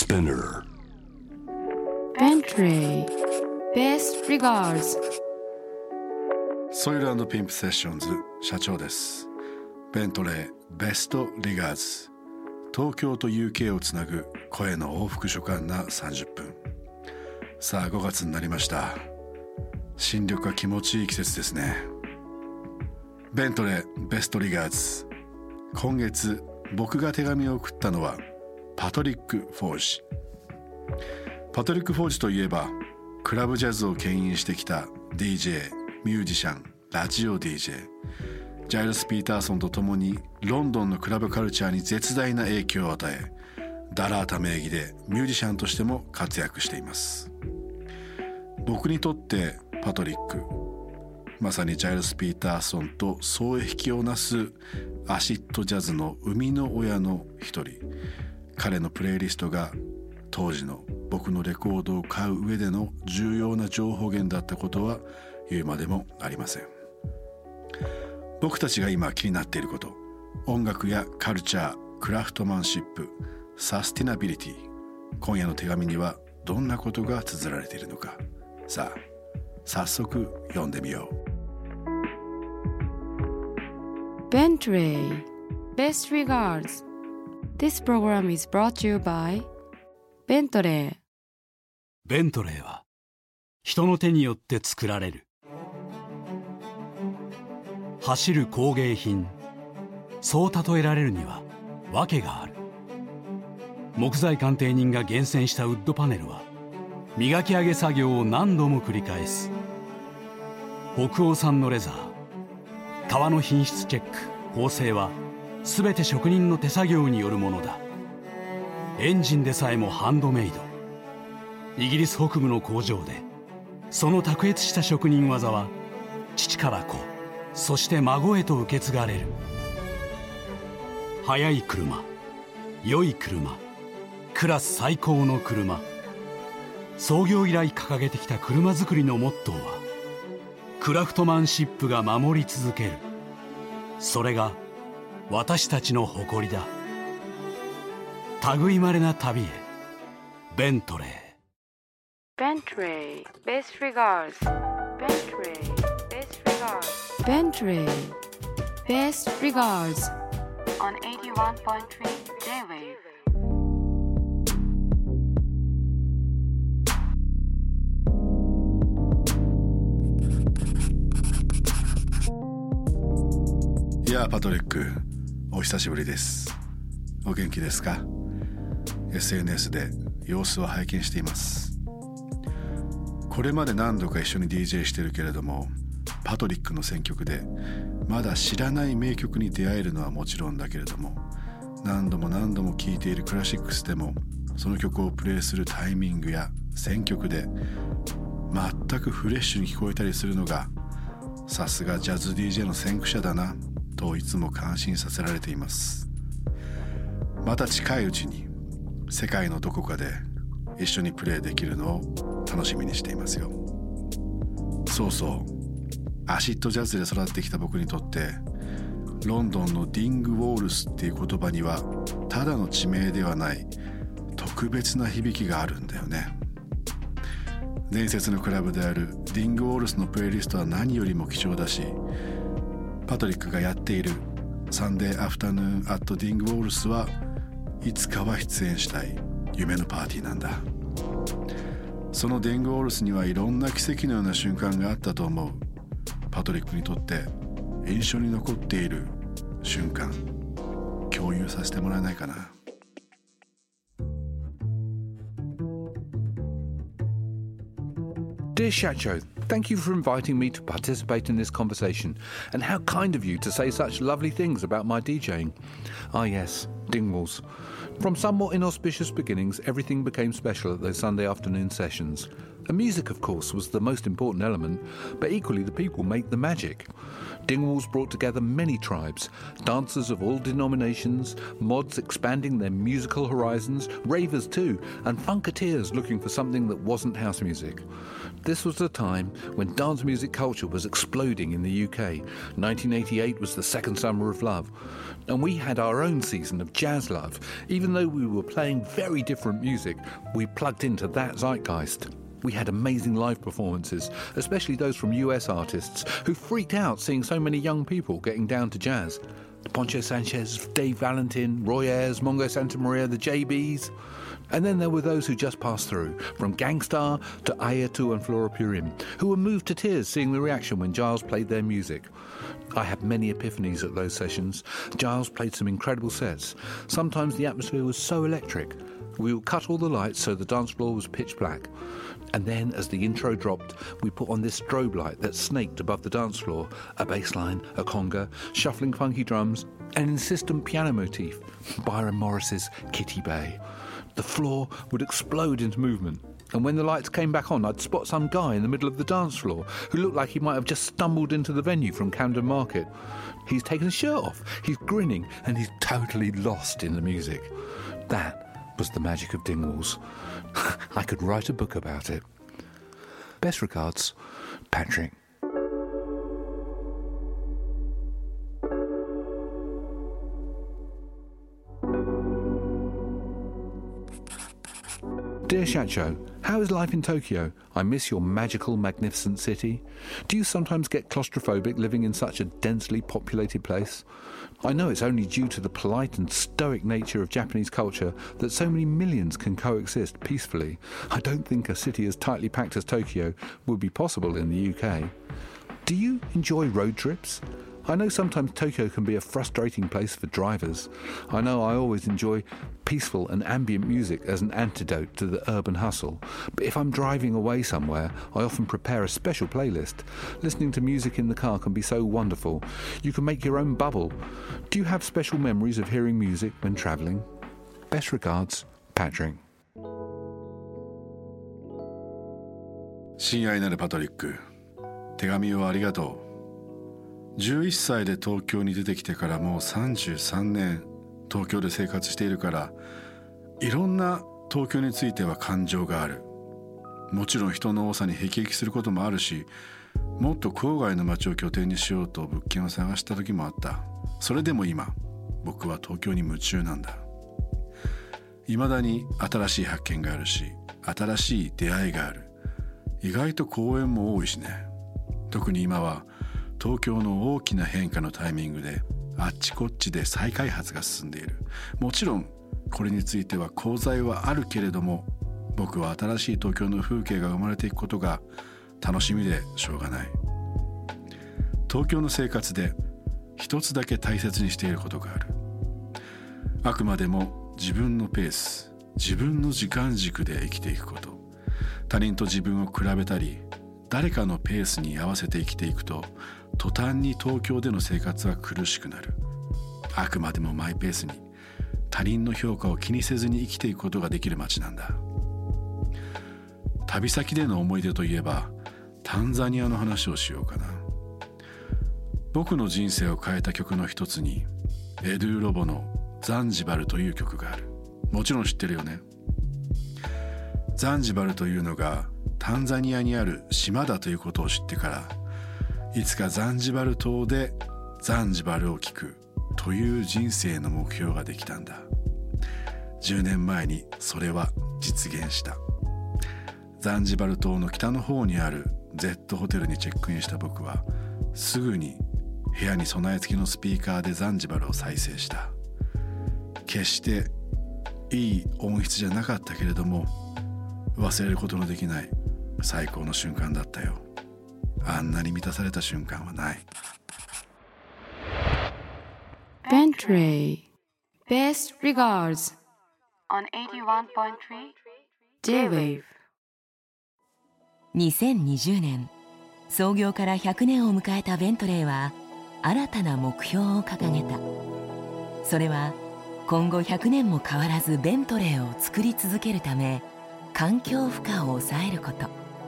Spinner Bentley Best Regards ソイル&ピンプセッションズ社長です。ベントレーベストリガーズ、東京と UK をつなぐ声の往復書簡な30分。さあ5月になりました。新緑が気持ちいい季節ですね。ベントレーベストリガーズ、今月僕が手紙を送ったのはパトリック・フォージ。パトリック・フォージといえばクラブジャズを牽引してきた DJ、ミュージシャン、ラジオ DJ、 ジャイルス・ピーターソンと共にロンドンのクラブカルチャーに絶大な影響を与え、ダラータ名義でミュージシャンとしても活躍しています。僕にとってパトリック、まさにジャイルス・ピーターソンと双璧をなすアシッドジャズの生みの親の一人。彼のプレイリストが当時の僕のレコードを買う上での重要な情報源だったことは言うまでもありません。僕たちが今気になっていること、音楽やカルチャー、クラフトマンシップ、サスティナビリティ、今夜の手紙にはどんなことが綴られているのか。さあ早速読んでみよう。Bentley Best Regards. This program is brought to you by ベントレー。 ベントレーは人の手によって作られる。走る工芸品、そう例えられるには訳がある。木材鑑定人が厳選したウッドパネルは磨き上げ作業を何度も繰り返す。北欧産のレザー、革の品質チェック、縫製は全て職人の手作業によるものだ。エンジンでさえもハンドメイド。イギリス北部の工場でその卓越した職人技は父から子、そして孫へと受け継がれる。速い車、良い車、クラス最高の車。創業以来掲げてきた車作りのモットーはクラフトマンシップが守り続ける。それが私たちの誇りだ。類まれな旅へ、ベントレー。 Bentley Best Regards. Bentley Best Regards. Bentley Best Regards on 81.3 J-Wave. いやパトリック、お久しぶりです。お元気ですか？ SNS で様子を拝見しています。これまで何度か一緒に DJ してるけれども、パトリックの選曲でまだ知らない名曲に出会えるのはもちろんだけれども、何度も聴いているクラシックスでもその曲をプレイするタイミングや選曲で全くフレッシュに聞こえたりするのが、さすがジャズ DJ の先駆者だなといつも感心させられています。また近いうちに世界のどこかで一緒にプレイできるのを楽しみにしていますよ。そうそう、アシッドジャズで育ってきた僕にとってロンドンのディング・ウォールスっていう言葉にはただの地名ではない特別な響きがあるんだよね。伝説のクラブであるディング・ウォールスのプレイリストは何よりも貴重だし、パトリックがやっているサンデーアフタヌーンアットディング・ウォールスはいつかは出演したい夢のパーティーなんだ。そのディング・ウォールスにはいろんな奇跡のような瞬間があったと思う。パトリックにとって印象に残っている瞬間、共有させてもらえないかな。 Dear Shacho, thank you for inviting me to participate in this conversation, and how kind of you to say such lovely things about my DJing. Ah yes, Dingwalls. From somewhat inauspicious beginnings, everything became special at those Sunday afternoon sessions. The music, of course, was the most important element, but equally the people make the magic. Dingwalls brought together many tribes, dancers of all denominations, mods expanding their musical horizons, ravers too, and funketeers looking for something that wasn't house music. This was the time when dance music culture was exploding in the UK. 1988 was the second summer of love, and we had our own season of jazz love. Even though we were playing very different music, we plugged into that zeitgeist. We had amazing live performances, especially those from US artists who freaked out seeing so many young people getting down to jazz. Poncho Sanchez, Dave Valentin, Roy Ayers, Mongo Santa Maria, the JBs. And then there were those who just passed through, from Gangstar to Ayatu and Flora Purim, who were moved to tears seeing the reaction when Giles played their music. I had many epiphanies at those sessions. Giles played some incredible sets. Sometimes the atmosphere was so electric. We would cut all the lights so the dance floor was pitch black. And then, as the intro dropped, we put on this strobe light that snaked above the dance floor, a bass line, a conga, shuffling funky drums, an insistent piano motif, Byron Morris's Kitty Bay. The floor would explode into movement. And when the lights came back on, I'd spot some guy in the middle of the dance floor who looked like he might have just stumbled into the venue from Camden Market. He's taken his shirt off, he's grinning, and he's totally lost in the music. That was the magic of Dingwalls. I could write a book about it. Best regards, Patrick. Dear Shacho, how is life in Tokyo? I miss your magical, magnificent city. Do you sometimes get claustrophobic living in such a densely populated place? I know it's only due to the polite and stoic nature of Japanese culture that so many millions can coexist peacefully. I don't think a city as tightly packed as Tokyo would be possible in the UK. Do you enjoy road trips? I know sometimes Tokyo can be a frustrating place for drivers. I know I always enjoy peaceful and ambient music as an antidote to the urban hustle. But if I'm driving away somewhere, I often prepare a special playlist. Listening to music in the car can be so wonderful. You can make your own bubble. Do you have special memories of hearing music when travelling? Best regards, Patrick. 親愛なるパトリック、手紙をありがとう。11歳で東京に出てきてからもう33年東京で生活しているから、いろんな東京については感情がある。もちろん人の多さに辟易することもあるし、もっと郊外の街を拠点にしようと物件を探した時もあった。それでも今僕は東京に夢中なんだ。未だに新しい発見があるし、新しい出会いがある。意外と公園も多いしね。特に今は東京の大きな変化のタイミングであっちこっちで再開発が進んでいる。もちろんこれについては功罪はあるけれども、僕は新しい東京の風景が生まれていくことが楽しみでしょうがない。東京の生活で一つだけ大切にしていることがある。あくまでも自分のペース、自分の時間軸で生きていくこと。他人と自分を比べたり、誰かのペースに合わせて生きていくと、途端に東京での生活は苦しくなる。あくまでもマイペースに、他人の評価を気にせずに生きていくことができる街なんだ。旅先での思い出といえば、タンザニアの話をしようかな。僕の人生を変えた曲の一つに、エドゥ・ロボのザンジバルという曲がある。もちろん知ってるよね。ザンジバルというのがタンザニアにある島だということを知ってから、いつかザンジバル島でザンジバルを聴くという人生の目標ができたんだ。10年前にそれは実現した。ザンジバル島の北の方にある Z ホテルにチェックインした僕は、すぐに部屋に備え付けのスピーカーでザンジバルを再生した。決していい音質じゃなかったけれども、忘れることのできない最高の瞬間だったよ。あんなに満たされた瞬間はない。 Bentley Best regards on 81.3 J-Wave。 2020年、創業から100年を迎えたベントレーは新たな目標を掲げた。それは今後100年も変わらずベントレーを作り続けるため、環境負荷を抑えること。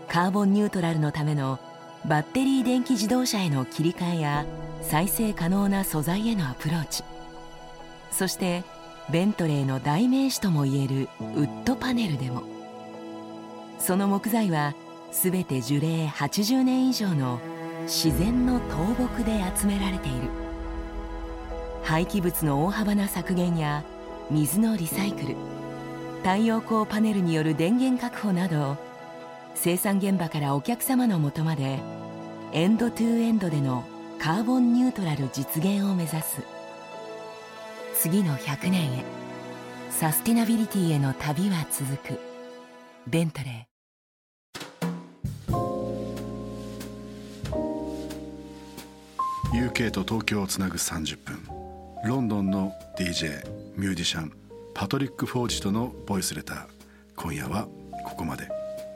カーボンニュートラルのためのバッテリー電気自動車への切り替えや再生可能な素材へのアプローチ、そしてベントレーの代名詞ともいえるウッドパネルでも、その木材はすべて樹齢80年以上の自然の倒木で集められている。廃棄物の大幅な削減や水のリサイクル、太陽光パネルによる電源確保など、生産現場からお客様のもとまでエンドトゥエンドでのカーボンニュートラル実現を目指す。次の100年へ、サスティナビリティへの旅は続く。ベントレー。 UK と東京をつなぐ30分、ロンドンの DJ ミュージシャンパトリック・フォージとのボイスレター、今夜はここまで。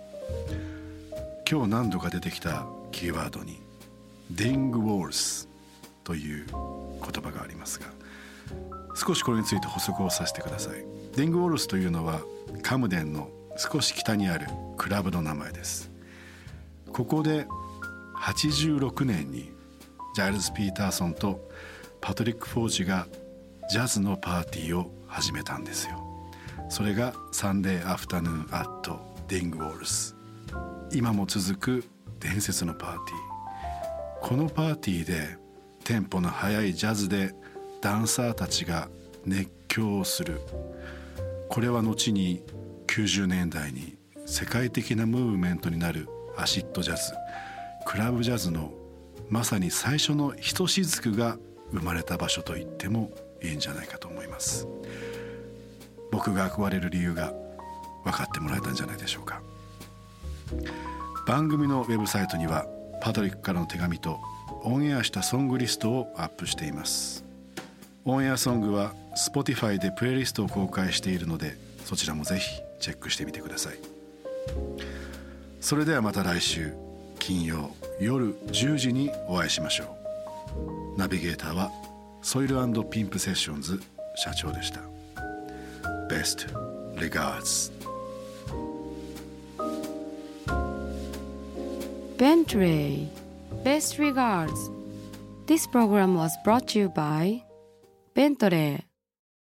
今日何度か出てきたキーワードにディング・ウォールスという言葉がありますが、少しこれについて補足をさせてください。ディング・ウォールスというのはカムデンの少し北にあるクラブの名前です。ここで86年にジャイルズ・ピーターソンとパトリック・フォージがジャズのパーティーを始めたんですよ。それがサンデーアフタヌーンアットディング・ウォールス、今も続く伝説のパーティー。このパーティーでテンポの速いジャズでダンサーたちが熱狂をする。これは後に90年代に世界的なムーブメントになるアシッドジャズ、クラブジャズのまさに最初のひとしずくが生まれた場所と言ってもいいんじゃないかと思います。僕が憧れる理由が分かってもらえたんじゃないでしょうか。番組のウェブサイトにはパトリックからの手紙とオンエアしたソングリストをアップしています。オンエアソングは Spotify でプレイリストを公開しているので、そちらもぜひチェックしてみてください。それではまた来週金曜夜10時にお会いしましょう。ナビゲーターはソイル&ピンプセッションズ社長でした。 Best regards。 Bentley. Best regards. This program was brought to you by Bentley.